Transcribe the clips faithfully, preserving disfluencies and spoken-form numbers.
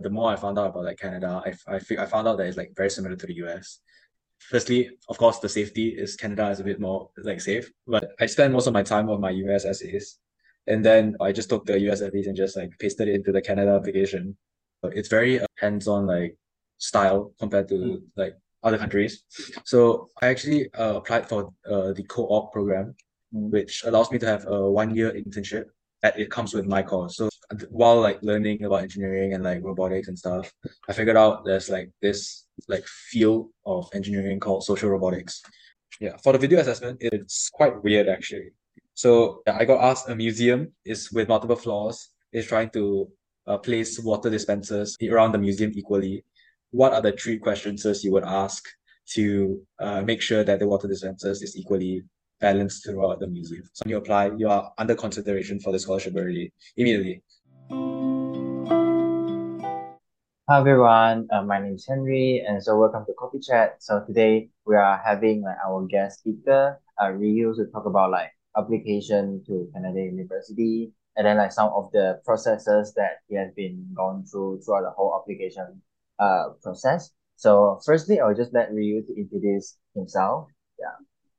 the more I found out about like Canada, I I, fi- I found out that it's like very similar to the U S. Firstly, of course, the safety is Canada is a bit more like safe, but I spend most of my time on my U S essays, and then I just took the U S essays and just like pasted it into the Canada application. Uh, It's very uh, hands-on like style compared Mm. to like other countries. So I actually uh, applied for uh, the co-op program, Mm. which allows me to have a one-year internship that it comes with my course. So while like learning about engineering and like robotics and stuff, I figured out there's like this like field of engineering called social robotics. Yeah, for the video assessment, it's quite weird actually. So yeah, I got asked a museum is with multiple floors is trying to uh, place water dispensers around the museum equally. What are the three questions you would ask to uh, make sure that the water dispensers is equally balanced throughout the museum? So when you apply, you are under consideration for the scholarship already immediately. Hi everyone, uh, my name is Henry, and so welcome to Coffee Chat. So today we are having like our guest speaker, uh, Ryu, to talk about like application to Canada University, and then like some of the processes that he has been gone through throughout the whole application uh process. So firstly, I'll just let Ryu to introduce himself. Yeah.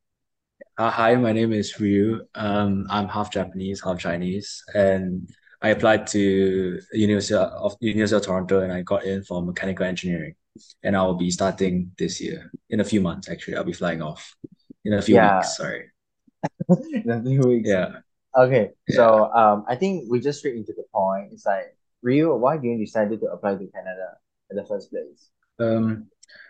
Uh, hi, my name is Ryu. Um, I'm half Japanese, half Chinese, and I applied to University of University of Toronto, and I got in for mechanical engineering. And I will be starting this year in a few months. Actually, I'll be flying off in a few Yeah, weeks. Sorry. in a few weeks. Yeah, Okay, yeah. so um, I think we just straight into the point. It's like, Ryu, why did you decided to apply to Canada in the first place? Um,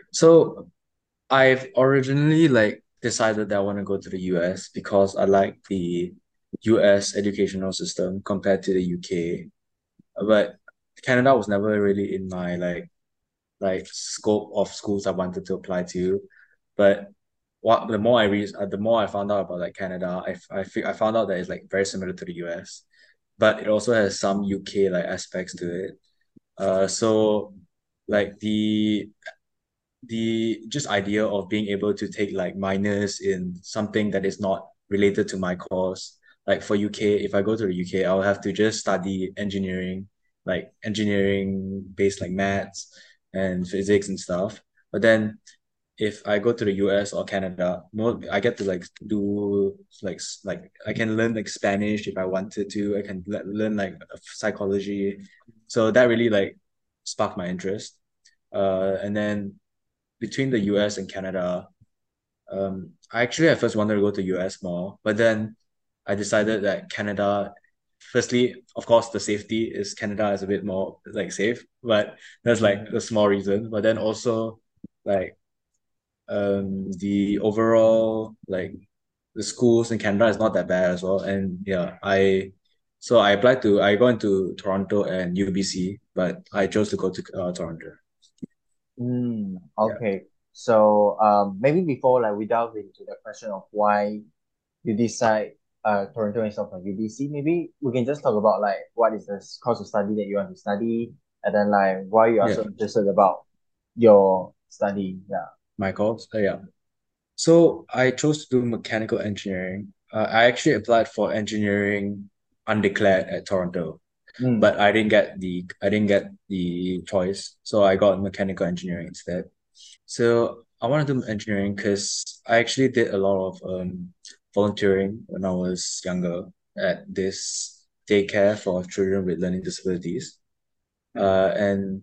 so I've originally like decided that I want to go to the U S because I like the U S educational system compared to the U K. But Canada was never really in my like like scope of schools I wanted to apply to. But what the more I read, uh, the more I found out about like Canada, I I fi- I found out that it's like very similar to the U S, but it also has some U K like aspects to it. Uh, so like the the just idea of being able to take like minors in something that is not related to my course. Like for U K, if I go to the U K, I'll have to just study engineering, like engineering based like maths and physics and stuff. But then if I go to the U S or Canada, more I get to like do like s- like I can learn like Spanish if I wanted to. I can le- learn like psychology. So that really like sparked my interest. Uh, and then between the U S and Canada, um, I actually at first wanted to go to U S more, but then I decided that Canada, firstly, of course, the safety is Canada is a bit more like safe, but that's like Mm. a small reason. But then also like um the overall like the schools in Canada is not that bad as well. And yeah, I so I applied to I got into Toronto and U B C, but I chose to go to uh, Toronto. Mm, Yeah. okay. So um, maybe before like we delve into the question of why you decide uh Toronto instead of U B C, maybe we can just talk about like what is the s- course of study that you want to study, and then like why you are Yeah. so interested about your study. Yeah. My course. Uh, yeah. So I chose to do mechanical engineering. Uh, I actually applied for engineering undeclared at Toronto, Mm. but I didn't get the I didn't get the choice, so I got mechanical engineering instead. So I wanted to do engineering because I actually did a lot of um volunteering when I was younger at this daycare for children with learning disabilities. Uh, and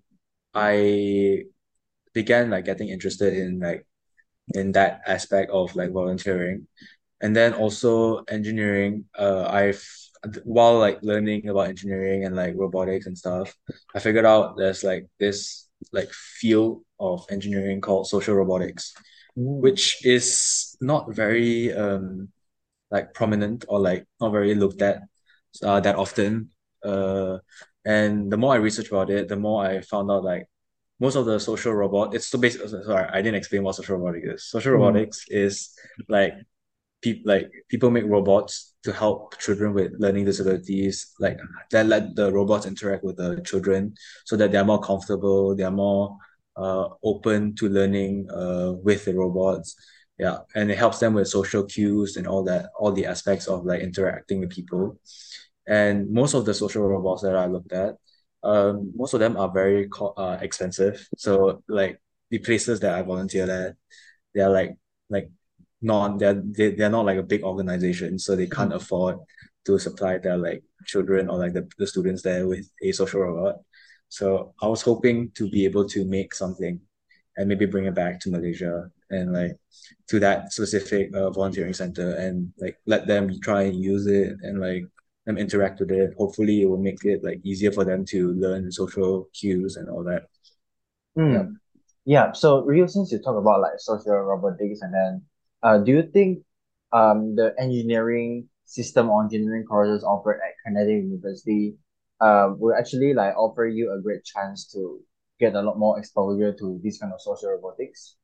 I began like getting interested in like in that aspect of like volunteering. And then also engineering, uh, I've while like learning about engineering and like robotics and stuff, I figured out there's like this like field of engineering called social robotics, Mm. which is not very um like prominent or like not very looked at uh, that often. Uh, and the more I researched about it, the more I found out like most of the social robot. It's so basically sorry, I didn't explain what social robotics is. Social Mm. robotics is like people like people make robots to help children with learning disabilities, like that let the robots interact with the children so that they're more comfortable, they're more uh open to learning uh with the robots. Yeah, and it helps them with social cues and all that, all the aspects of like interacting with people. And most of the social robots that I looked at um, most of them are very co uh, expensive. So like the places that I volunteer at, they're like like not they're they, they're not like a big organization, so they can't Mm. afford to supply their like children or like the, the students there with a social robot. So I was hoping to be able to make something and maybe bring it back to Malaysia and like to that specific uh, volunteering center and like let them try and use it and like them interact with it. Hopefully, it will make it like easier for them to learn social cues and all that. Yeah. Mm. Yeah, so Rio, since you talk about like social robotics and then uh do you think um the engineering system or engineering courses offered at Canadian University um will actually like offer you a great chance to get a lot more exposure to this kind of social robotics?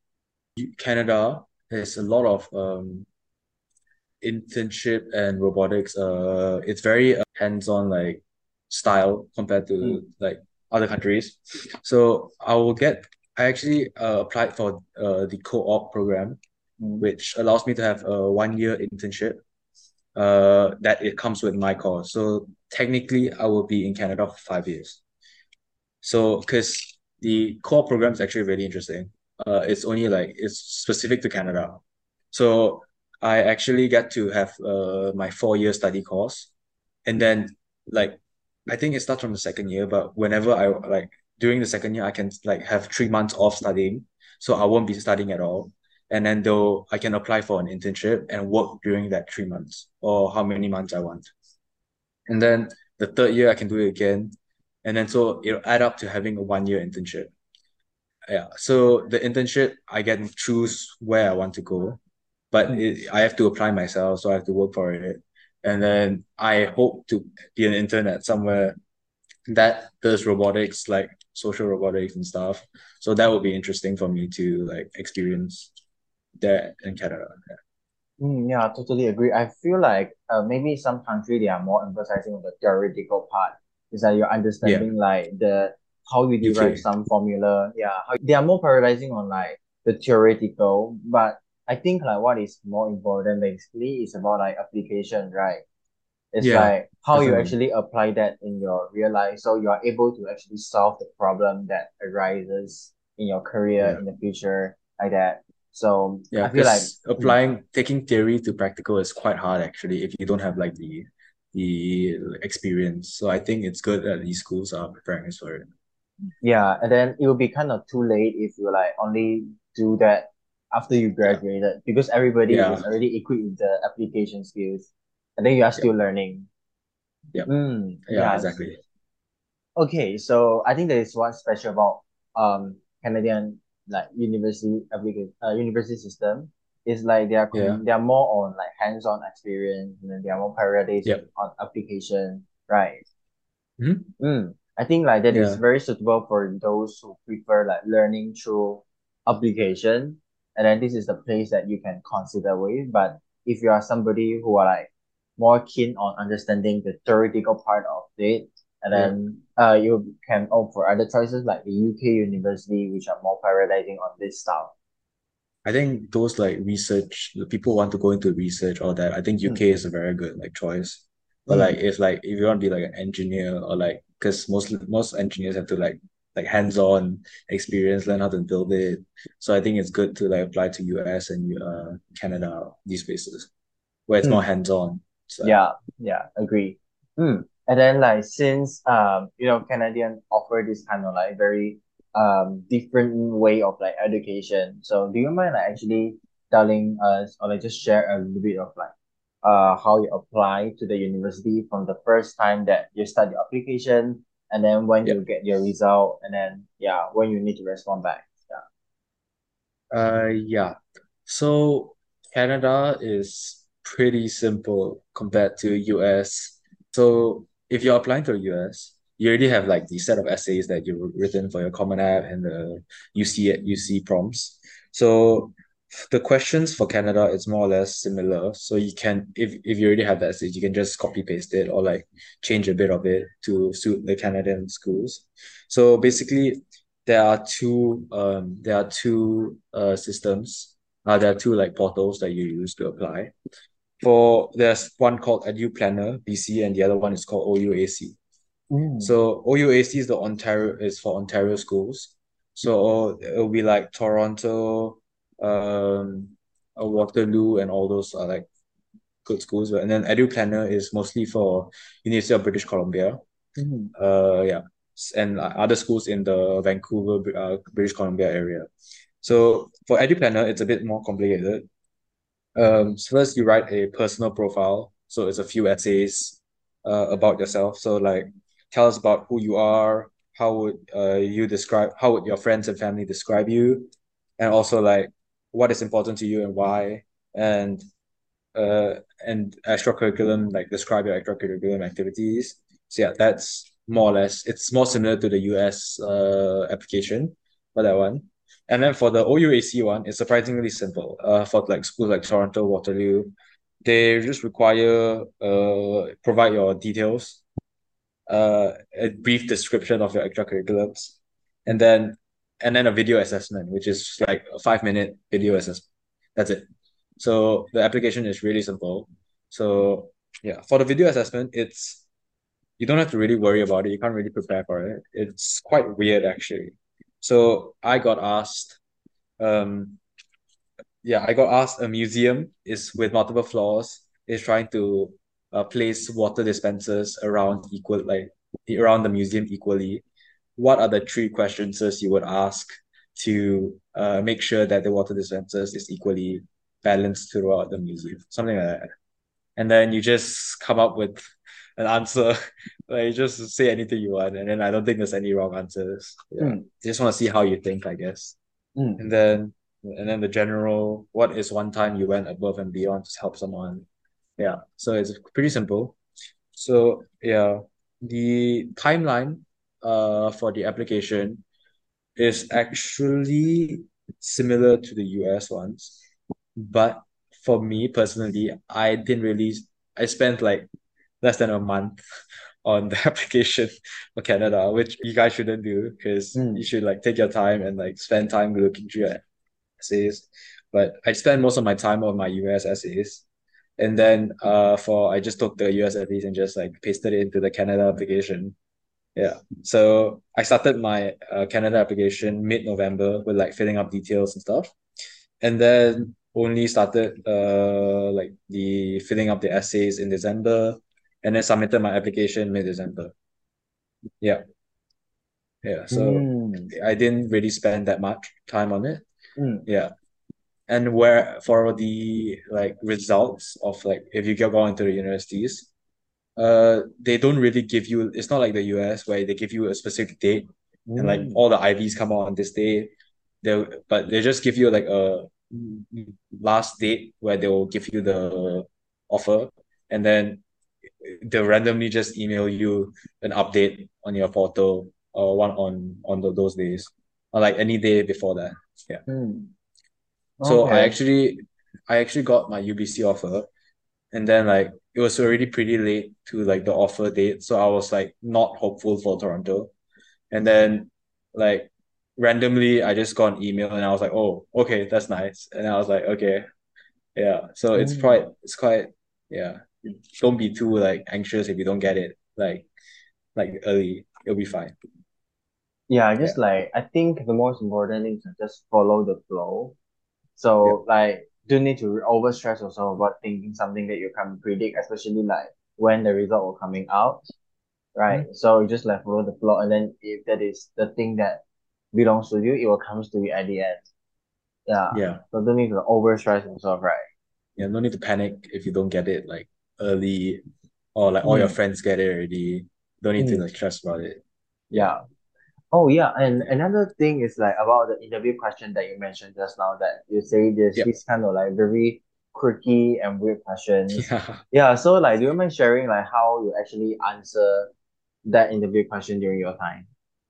Canada has a lot of um internship and robotics. Uh, it's very uh, hands-on like style compared to Mm. like other countries. So I will get. I actually uh, applied for uh, the co-op program, Mm. which allows me to have a one-year internship. Uh, that it comes with my course. So technically, I will be in Canada for five years. So, because the core program is actually really interesting. Uh, it's only like it's specific to Canada. So I actually get to have uh my four year study course, and then like I think it starts from the second year, but whenever I like during the second year, I can like have three months off studying, so I won't be studying at all. And then though I can apply for an internship and work during that three months or how many months I want. And then the third year I can do it again. And then so it'll add up to having a one year internship. Yeah. So the internship I get to choose where I want to go, but Mm. it, I have to apply myself, so I have to work for it. And then I hope to be an intern at somewhere that does robotics, like social robotics and stuff. So that would be interesting for me to like experience that in Canada. Mm, yeah, I totally agree. I feel like uh, maybe some country they are more emphasizing on the theoretical part. Is that you're Yeah. understanding like the how you derive U K. some formula. Yeah, how they are more prioritizing on like the theoretical. But I think like what is more important basically is about like application, right? It's Yeah, like how you definitely. actually apply that in your real life, so you are able to actually solve the problem that arises in your career Yeah. in the future, like that. So Yeah, I feel like. because applying taking theory to practical is quite hard actually if you don't have like the the experience. So I think it's good that these schools are preparing us for it. Yeah, and then it will be kind of too late if you like only do that after you Yeah. graduated because everybody Yeah. is already equipped with the application skills, and then you are Yep. still learning. Yep. Mm, Yeah, yes. exactly. Okay, so I think there is one special about um Canadian like university application uh, university system is like they are Yeah. com they are more on like hands-on experience and then they are more prioritizing Yep. on application, right? Hmm. Mm, I think like that is Yeah. very suitable for those who prefer like learning through application, and then this is the place that you can consider with. But if you are somebody who are like more keen on understanding the theoretical part of it, and Yeah. then uh you can opt for other choices like the U K university, which are more prioritizing on this stuff. I think those like research, the people want to go into research, all that. I think Mm, U K is a very good like choice. But like mm, if like if you want to be like an engineer or like because most most engineers have to like like hands-on experience, learn how to build it. So I think it's good to like apply to U S and uh Canada, these places where it's more mm. hands-on. So Yeah, yeah, agree. Mm. And then like since um you know Canadian offer this kind of like very um different way of like education. So do you mind like actually telling us or like just share a little bit of like uh how you apply to the university from the first time that you start your application and then when yeah. you get your result and then yeah when you need to respond back. Yeah. Uh yeah. So Canada is pretty simple compared to U S. So if you're applying to the U S, you already have like the set of essays that you've written for your Common App and the U C U C prompts. So the questions for Canada is more or less similar. So you can if if you already have the essays, you can just copy paste it or like change a bit of it to suit the Canadian schools. So basically there are two um there are two uh systems. Uh, there are two like portals that you use to apply. For there's one called EduPlanner B C and the other one is called O U A C. Mm. So O U A C is the Ontario is for Ontario schools. So it'll be like Toronto, um, uh, Waterloo, and all those are like good schools. And then EduPlanner is mostly for University of British Columbia. Mm. Uh, yeah, S- and uh, other schools in the Vancouver, Br- uh, British Columbia area. So for EduPlanner, it's a bit more complicated. Um, so first you write a personal profile. So it's a few essays uh, about yourself. So like tell us about who you are, how would uh, you describe, how would your friends and family describe you, and also like what is important to you and why, and uh and extracurriculum, like describe your extracurriculum activities. So yeah, that's more or less it's more similar to the U S uh application for that one. And then for the O U A C one, it's surprisingly simple. Uh for like schools like Toronto, Waterloo, they just require uh provide your details, uh a brief description of your extracurriculums, and then and then a video assessment, which is like a five minute video assessment. That's it. So the application is really simple. So yeah, for the video assessment, it's you don't have to really worry about it. You can't really prepare for it. It's quite weird actually. So I got asked, um, yeah, I got asked a museum is with multiple floors is trying to uh, place water dispensers around equal like around the museum equally. What are the three questions you would ask to uh, make sure that the water dispensers is equally balanced throughout the museum? Something like that. And then you just come up with an answer. Like you just say anything you want, and then I don't think there's any wrong answers. Yeah, Mm. just want to see how you think, I guess. Mm. And then and then the general, what is one time you went above and beyond to help someone? Yeah, so it's pretty simple. So yeah, the timeline uh for the application is actually similar to the U S ones, but for me personally, I didn't really. I spent like less than a month on the application for Canada, which you guys shouldn't do because you Mm. should like take your time and like spend time looking through your essays. But I spent most of my time on my U S essays. And then uh for I just took the U S essays and just like pasted it into the Canada application. Yeah. So I started my uh, Canada application mid-November with like filling up details and stuff. And then only started uh like the filling up the essays in December, and then submitted my application mid-December. Yeah. Yeah. So Mm. I didn't really spend that much time on it. Mm. Yeah. And where for the like results of like if you get going to the universities, uh they don't really give you, it's not like the U S where they give you a specific date and like Mm. all the I Vs come out on this day. They'll but they just give you like a last date where they'll give you the offer, and then they'll randomly just email you an update on your portal or one on on the, those days or like any day before that. Yeah. Mm. So I Okay. actually I actually got my U B C offer, and then like it was already pretty late to like the offer date, so I was like not hopeful for Toronto. And then like randomly I just got an email and I was like, oh, okay, that's nice. And I was like, okay, yeah. So it's quite Mm. it's quite yeah. Don't be too like anxious if you don't get it like like early. It'll be fine. Yeah, Yeah. just like I think the most important thing is to just follow the flow. Yeah. So like don't need to over stress yourself about thinking something that you can't predict, especially like when the result will coming out, right? Mhm. So you just like follow the flow, and then if that is the thing that belongs to you, it will comes to you at the end. Yeah. Yeah. So don't need to over stress yourself, right? Yeah. No need to panic if you don't get it like early, or like all your Mm. friends get it already. Don't need to Mm. like stress about it. Yeah. Yeah. Oh yeah, and Yeah. another thing is like about the interview question that you mentioned just now, that you say there's Yeah. this kind of like very quirky and weird questions. Yeah. Yeah, so like do you mind sharing like how you actually answer that interview question during your time?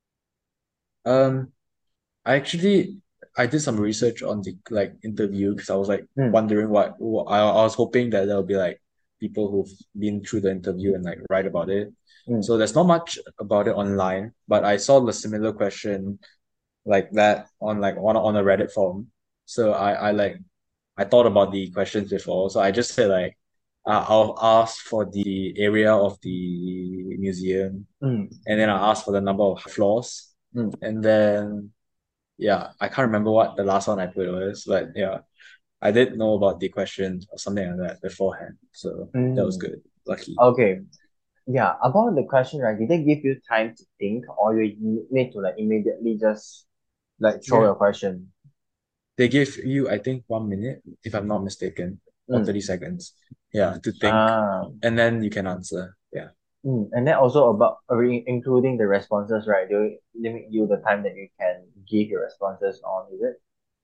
Um, I actually I did some research on the like interview because I was like Mm. wondering what, what I, I was hoping that there'll be like people who've been through the interview and like write about it. Mm. So there's not much about it online, but I saw the similar question like that on like on on a Reddit forum. So I I like I thought about the questions before. So I just said like uh, I'll ask for the area of the museum, Mm, and then I'll ask for the number of floors, mm, and then yeah, I can't remember what the last one I put was, but yeah, I did know about the questions or something like that beforehand, so that was mm. good. Lucky. Okay. Yeah, about the question, right? Did they give you time to think, or you need to like immediately just like throw Yeah, your question? they gave you, I think, one minute, if I'm not mistaken, or Mm. thirty seconds. Yeah, to think, Ah, and then you can answer. Yeah. mm. And then also about uh, re- including the responses, right? They limit you the time that you can give your responses on, is it?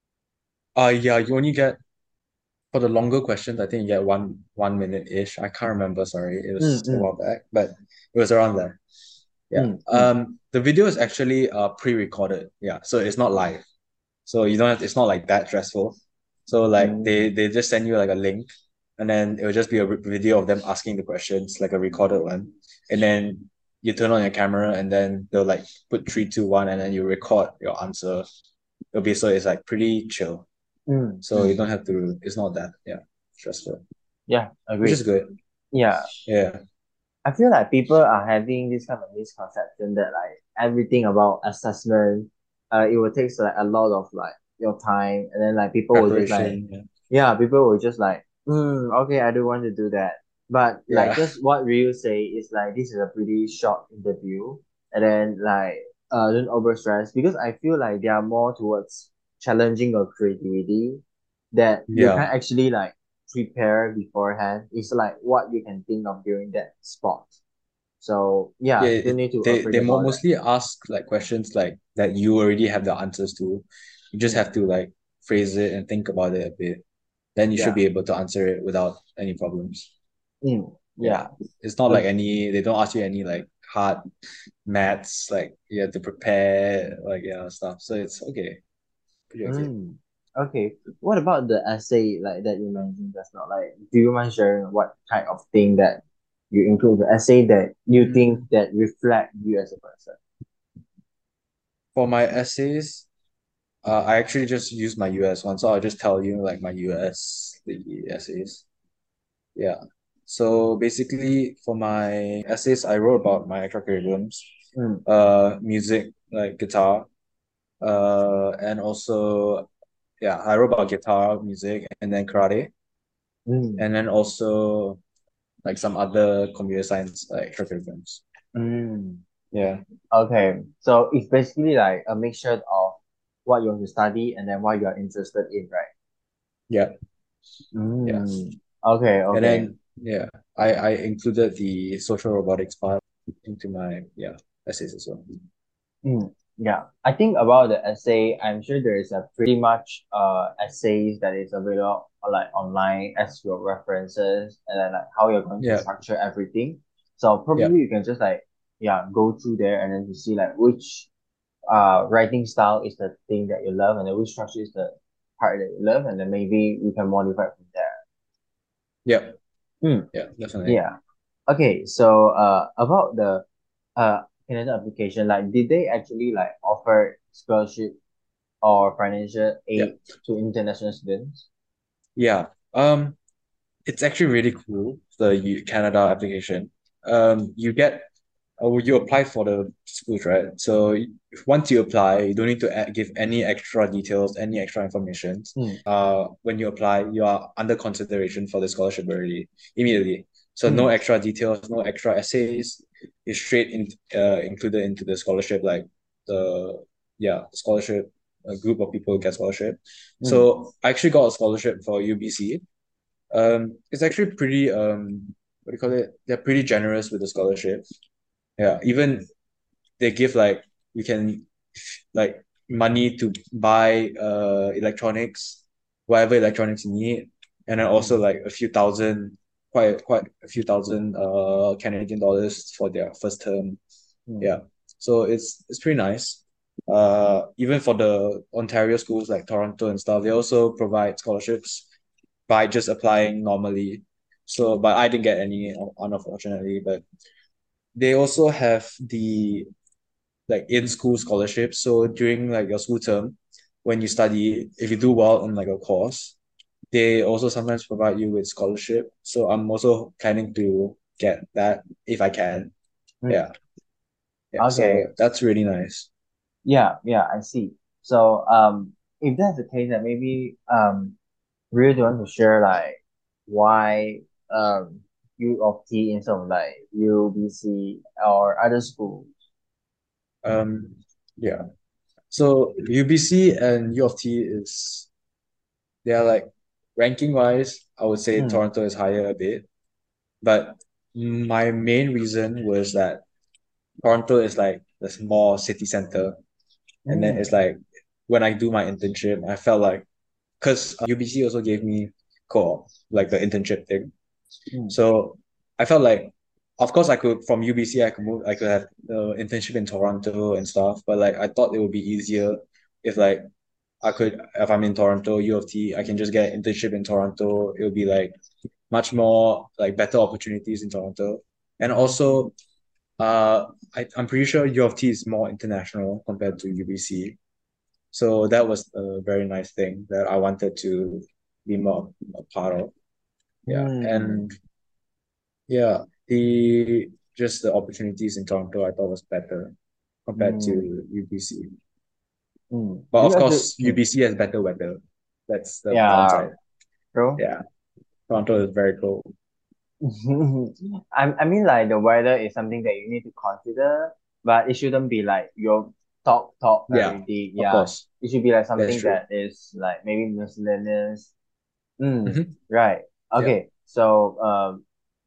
Uh yeah, you only get for the longer questions, I think you get one one minute-ish. I can't remember, sorry. It Mm, was a while mm, back, but it was around there. Yeah. mm, mm, Um, the video is actually uh pre-recorded. Yeah, so it's not live. So you don't have, it's not like that stressful. So like they mm, they just send you like a link, and then it will just be a re- video of them asking the questions, like a recorded one. And then you turn on your camera, and then they'll like put three, two, one, and then you record your answer. It'll be so it's like pretty chill. mm, So you mm. don't have to, it's not that, yeah, stressful, Yeah, which is agreed. good. Yeah, Yeah. I feel like people are having this kind of misconception that like everything about assessment, uh, it will take like a lot of like your time, and then like people will just like, Preparation. Yeah. yeah, people will just like, hmm, okay, I don't want to do that. But like Yeah. just what Ryu say is like this is a pretty short interview, and then like uh don't over stress because I feel like they are more towards challenging your creativity that you can Yeah. actually like prepare beforehand. It's like what you can think of during that spot. So Yeah. yeah, don't It, need to they afraid they mo about that. mostly ask like questions like that you already have the answers to. You just Mm, have to like phrase it and think about it a bit. Then you should yeah. be able to answer it without any problems. Mm, Yeah. yeah. It's not like Ag- any, they don't ask you any like hard maths, like you have to prepare, like yeah, stuff. So it's okay. Pretty okay. mm. Okay. What about the essay like that you mentioned just now? Like, do you mind sharing what kind of thing that you include the essay that you think Mm, that reflect you as a person? for my essays, Uh, I actually just use my U S one, so I'll just tell you like my U S the essays. Yeah. So basically, for my essays, I wrote about my extracurriculums, Mm, uh, music like guitar, uh, and also yeah, I wrote about guitar, music, and then karate, mm, and then also like some other computer science like extracurriculums. mm. Yeah. Okay. So it's basically like a mixture of what you want to study and then what you are interested in, right? Yeah. Yeah. Mm. Okay, And okay. then yeah, I I included the social robotics part into my yeah essays as well. Mm, yeah, I think about the essay, I'm sure there is a pretty much uh essays that is available uh, like online as your references and then like how you're going to Yeah, structure everything. So yeah, probably you can just like yeah go through there and then to see like which uh writing style is the thing that you love and then which structure is the part that you love and then maybe we can modify from there. yeah, Mm, yeah, definitely. yeah. Okay, so uh about the uh Canada application, like did they actually like offer scholarship or financial Yeah, aid to international students? yeah. Um, it's actually really cool, the U Canada application. Um, you get, uh, you apply for the schools, right? So y- once you apply, you don't need to add, give any extra details, any extra information. Mm, Uh, when you apply, you are under consideration for the scholarship already, immediately. So no mm, extra details, no extra essays. You're straight in, uh, included into the scholarship, like the, yeah, scholarship, a group of people get scholarship. mm, So I actually got a scholarship for U B C. Um, it's actually pretty um what do you call it? They're pretty generous with the scholarship. Yeah, even they give like you can like money to buy uh electronics, whatever electronics you need, and then also mm, like a few thousand, quite quite a few thousand uh Canadian dollars for their first term. mm, Yeah, so it's it's pretty nice. Uh, even for the Ontario schools like Toronto and stuff, they also provide scholarships by just applying normally. So, but I didn't get any, unfortunately. But they also have the like in-school scholarships. So during like your school term, when you study, if you do well on like a course, they also sometimes provide you with scholarship. So I'm also planning to get that if I can. Mm. Yeah. Yeah. So Okay. that's really nice. Yeah, yeah, I see. So, um, if that's the case, then maybe um, really do you want to share like why um U of T instead of like U B C or other schools? Um, yeah. So U B C and U of T is they are like ranking wise, I would say Mm, Toronto is higher a bit. But my main reason was that Toronto is like the small city center. And then it's mm, like when I do my internship, I felt like because U B C also gave me co-op, like the internship thing. mm, So I felt like, of course, I could from U B C, I could move, I could have uh, internship in Toronto and stuff. But like I thought it would be easier if like I could, if I'm in Toronto, U of T, I can just get an internship in Toronto. It would be like much more like better opportunities in Toronto. And also, uh, I, I'm pretty sure U of T is more international compared to U B C. So that was a very nice thing that I wanted to be more a part of. Yeah. mm, And yeah, the just the opportunities in Toronto I thought was better compared to mm, U B C. mm. But Do you of actually? course, Mm, U B C has better weather. That's the yeah, downside. true. Yeah. Toronto is very cold. I I mean like the weather is something that you need to consider, but it shouldn't be like your top top Yeah, priority. of Yeah, course. it should be like That's something true. that is like maybe miscellaneous. Mm, Hmm. right. Yeah. Okay. So um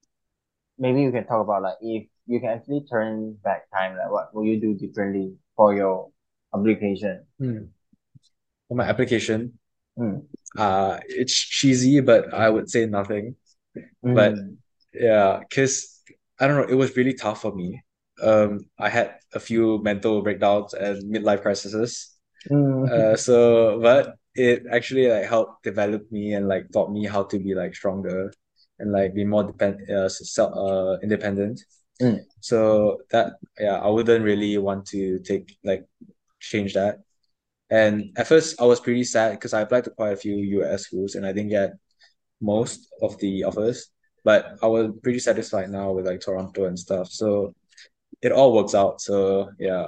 maybe you can talk about like if you can actually turn back time, like what will you do differently for your application? Hmm. For my application, Mm, uh, it's cheesy, but I would say nothing. But mm, yeah, because I don't know, it was really tough for me. Um, I had a few mental breakdowns and midlife crises. Uh, mm, so but it actually like helped develop me and like taught me how to be like stronger and like be more depend uh, self uh independent. mm, So that yeah, I wouldn't really want to take like change that. And at first I was pretty sad because I applied to quite a few U S schools and I didn't get most of the offers. But I was pretty satisfied now with like Toronto and stuff. So it all works out. So yeah.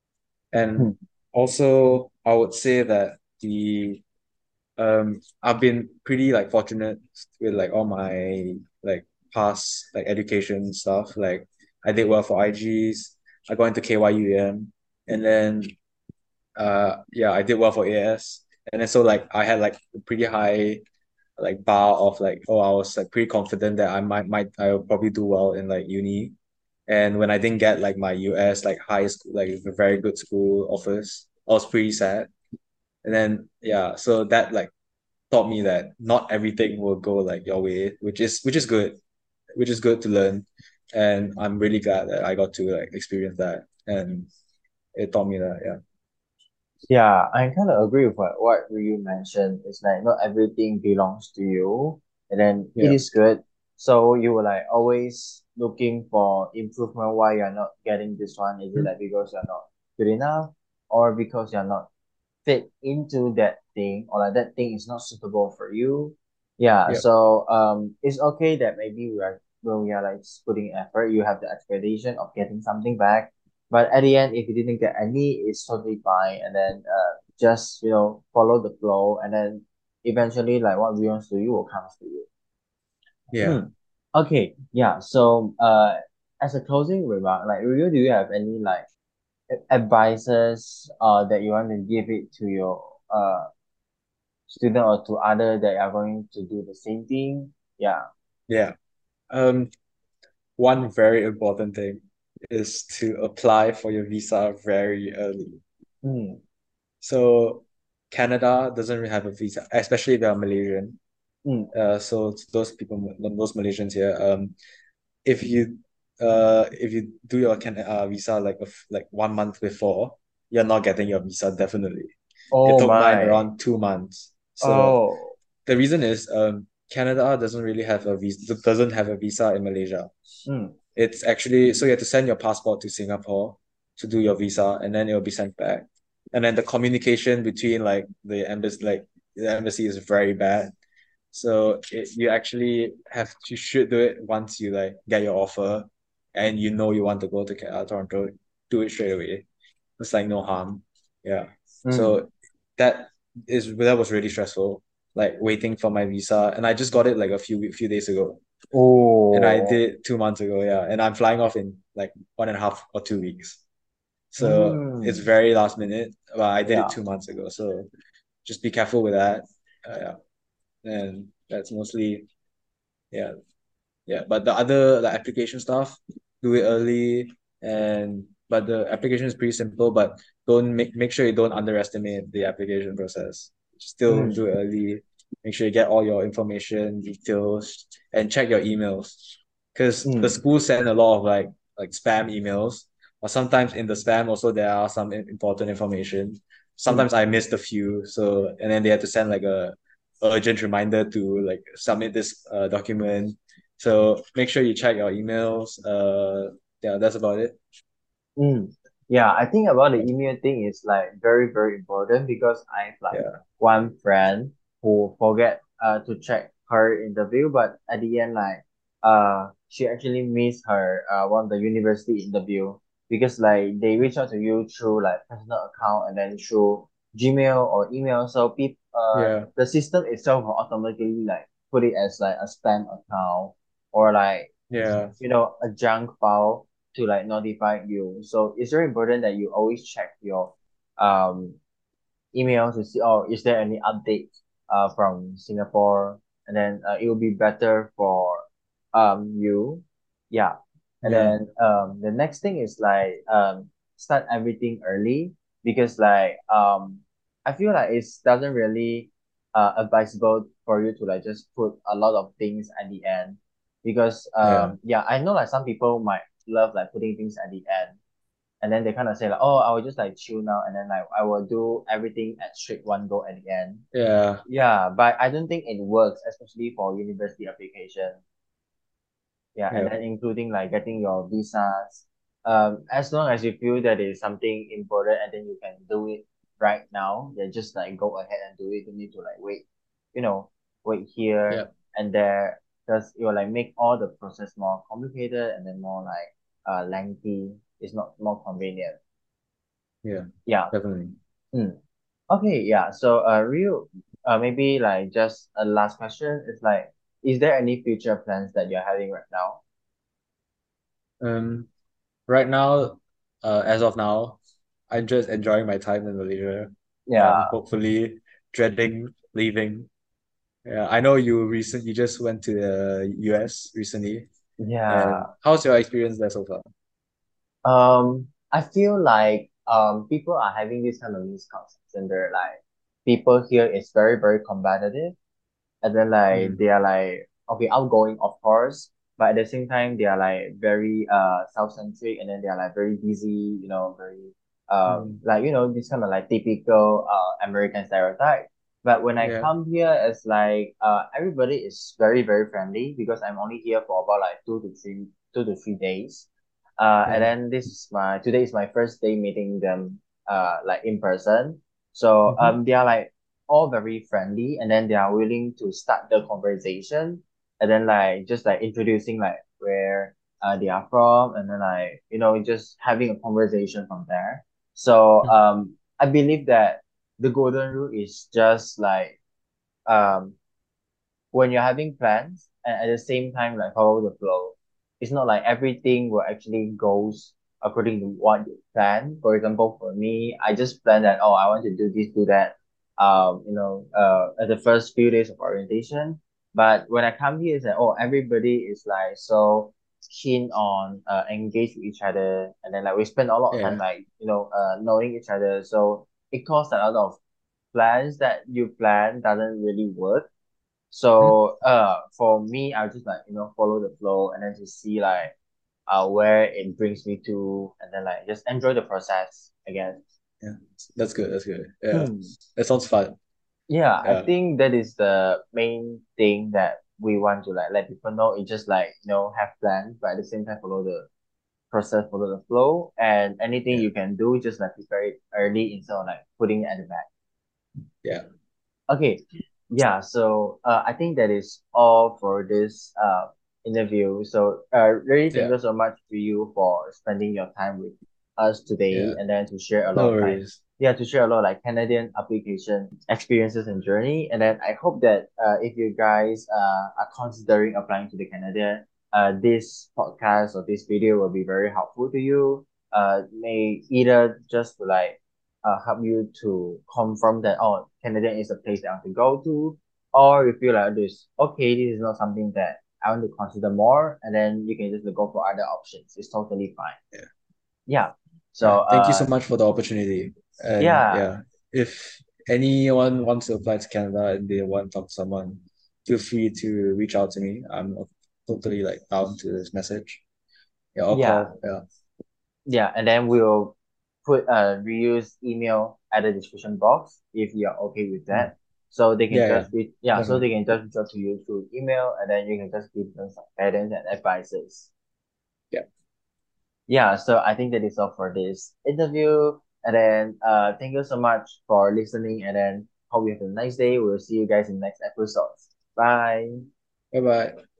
And mm, also I would say that the um I've been pretty like fortunate with like all my like past like education stuff. Like I did well for I Gs. I got into K Y U M, and then uh yeah, I did well for A S. And then so like I had like a pretty high like bar of like, oh, I was like pretty confident that I might might I will probably do well in like uni. And when I didn't get like my U S like high school like a very good school offers, I was pretty sad. And then yeah, so that like taught me that not everything will go like your way, which is which is good, which is good to learn. And I'm really glad that I got to like experience that, and it taught me that. Yeah, yeah, I kind of agree with what, what you mentioned. It's like not everything belongs to you, and then it yeah, is good. So you were like always looking for improvement why you're not getting this one. Is it mhm, like because you're not good enough, or because you're not fit into that thing, or like that thing is not suitable for you? Yeah, yeah, so um, it's okay that maybe we are when we are like putting effort, you have the expectation of getting something back, but at the end, if you didn't get any, it's totally fine. And then uh, just you know follow the flow, and then eventually, like what belongs to you will come to you. yeah, Hmm. Okay. Yeah. So uh, as a closing remark, like Rio, do you have any like a- advices uh that you want to give it to your uh student or to other that are going to do the same thing? Yeah. yeah. Um, one very important thing is to apply for your visa very early. Hmm. So Canada doesn't really have a visa, especially if you're Malaysian. Hmm. Uh, so it's those people, those Malaysians here, um, if you uh if you do your can uh, visa like a f- like one month before, you're not getting your visa definitely. It Oh took mine my. around two months. So Oh. the reason is um Canada doesn't really have a visa doesn't have a visa in Malaysia. Hmm. It's actually so you have to send your passport to Singapore to do your visa and then it'll be sent back. And then the communication between like the embassy like the embassy is very bad. So it, you actually have to should do it once you like get your offer and you know you want to go to Ca- uh, Toronto, do it straight away. It's like no harm. Yeah. Mm. So that is that was really stressful, like waiting for my visa. And I just got it like a few few days ago. And I Oh. did it two months ago, yeah. And I'm flying off in like one and a half or two weeks. So it's Mm. very last minute, but I did it Yeah. two months ago. So just be careful with that. Uh, yeah. And that's mostly, yeah, yeah. But the other like application stuff, do it early. And but the application is pretty simple, but don't make make sure you don't underestimate the application process. Still Mm. do it early. Make sure you get all your information, details, and check your emails. Because the Mm. school send a lot of like like spam emails, or sometimes in the spam also there are some im- important information. Mm. Sometimes I missed a few, so and then they had to send like a urgent reminder to like submit this uh, document. So make sure you check your emails. Uh, yeah, that's about it. Mm. Yeah, I think about the email thing is like very, very important because I have like Yeah, one friend who forget uh to check her interview, but at the end like uh she actually missed her uh one of the university interview because like they reach out to you through like personal account and then through Gmail or email. So people uh yeah, the system itself will automatically like put it as like a spam account or like yeah, you know a junk file to like notify you. So it's very important that you always check your um email to see, oh, is there any update uh from Singapore? And then uh, it will be better for um you. Yeah. And yeah, then um the next thing is like um start everything early because like um I feel like it doesn't really uh advisable for you to like just put a lot of things at the end because yeah, um yeah, I know like some people might love like putting things at the end and then they kind of say like, oh, I will just like chill now, and then like I will do everything at straight one go at the end. yeah, Yeah, but I don't think it works, especially for university application. Yeah, and yeah, then including like getting your visas. Um, as long as you feel that is something important, and then you can do it right now, then just like go ahead and do it. You need to like wait, you know, wait yeah, here and there, because it will like make all the process more complicated and then more like uh lengthy. It's not more convenient. yeah, Yeah. definitely. Mm. Okay, yeah. So, uh, Rio, uh, maybe like just a last question is like, is there any future plans that you're having right now? Um, right now, uh, as of now, I'm just enjoying my time in Malaysia and Yeah, hopefully dreading leaving. Yeah, I know you recent you just went to the U S recently, and yeah. how's your experience there so far? Um, I feel like um people are having this kind of misconception. They're like, people here is very, very competitive. And then like Mm, they are like okay outgoing of course, but at the same time they are like very uh self-centric and then they are like very busy, you know, very um mm, like you know this kind of like typical uh American stereotype. But when I yeah, come here, it's like uh everybody is very, very friendly because I'm only here for about like two to three two to three days. Uh and yeah, then this is my today is my first day meeting them uh like in person. So mm-hmm, um they are like all very friendly and then they are willing to start the conversation and then like just like introducing like where uh, they are from and then like you know just having a conversation from there. So mm, um I believe that the golden rule is just like um when you're having plans and at the same time like follow the flow. It's not like everything will actually goes according to what you plan. For example, for me, I just plan that oh I want to do this, do that. Um, you know, uh, at the first few days of orientation. But when I come here, it's like oh everybody is like so keen on uh engage with each other, and then like we spend a lot of time yeah, like you know uh knowing each other. So it caused a lot of plans that you plan doesn't really work. mm, So uh for me, I'll just like, you know, follow the flow and then just see like uh where it brings me to and then like just enjoy the process, I guess. yeah. That's good. That's good. Yeah, Hmm. that sounds fun. Yeah, I Yeah, think that is the main thing that we want to like let people know. It's just like, you know, have plans, but at the same time follow the process, follow the flow, and anything yeah, you can do, just like prepare it early instead of like putting it at the back. yeah. Okay. Yeah, so uh, I think that is all for this uh interview. So uh, really thank Yeah, you so much to you for spending your time with us today, yeah. and then to share a No lot of like worries. yeah, to share a lot of like Canadian application experiences and journey. And then I hope that uh, if you guys uh, are considering applying to the Canadian, uh, this podcast or this video will be very helpful to you. Uh, may either just to like uh, help you to confirm that oh Canadian is a place that I want to go to, or you feel like this okay this is not something that I want to consider more, and then you can just go for other options. It's totally fine. Yeah. Yeah. So Yeah. Thank you so uh much for the opportunity. And yeah yeah, if anyone wants to apply to Canada and they want to talk to someone, feel free to reach out to me. I'm totally like down to this message. Yeah, I'll yeah call. Yeah. yeah, and then we'll put a reuse email at the description box if you're okay with Mm. that. So they can Yeah, yeah, just be yeah, so they definitely. can just reach out to you through email, and then you can just give them some guidance and advices. Yeah. Yeah, so I think that is all for this interview. And then uh thank you so much for listening, and then hope you have a nice day. We'll see you guys in the next episodes. Bye. Bye bye.